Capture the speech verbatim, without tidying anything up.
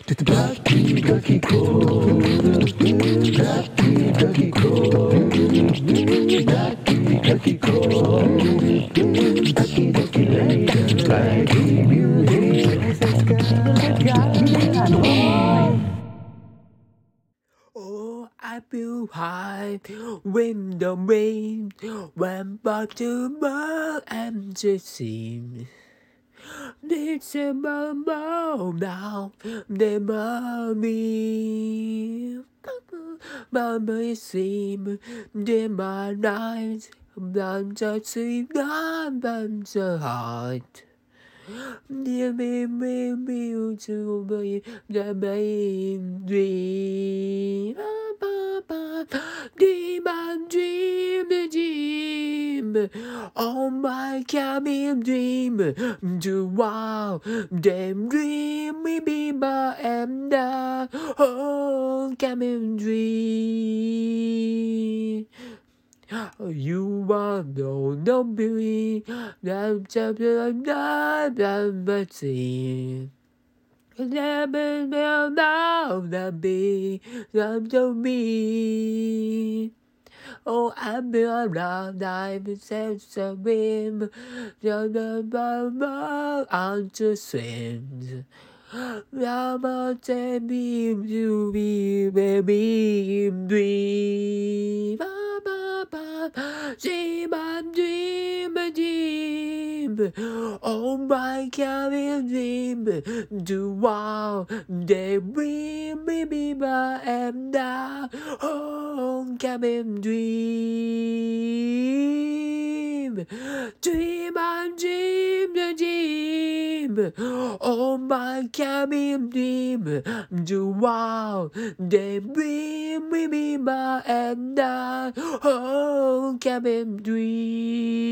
Oh, I feel high when the rain went back to my empty seam. It's a bubble now, the mommy. Mommy seem the my nights, I'm just sleep, I'm so hot. Dear me, me, me, to be the main dream. Dream and dream, the dream. Oh my cabin dream. To wow, them dream, me be my and the oh cabin dream. You are no no beauty, I'm chapter I'm not but see. Never will now that be I'm so me. Oh, I'm around, I'm sense of him. Just above on to swim. I'm a baby to be baby dream. Dream and dream and dream. Oh my cabin dream. Do wow, they bring me be my and now. Oh, cabin dream. Dream and dream the dream. Oh my cabin dream. Do wow, they bring me be my and now. Oh, cabin dream.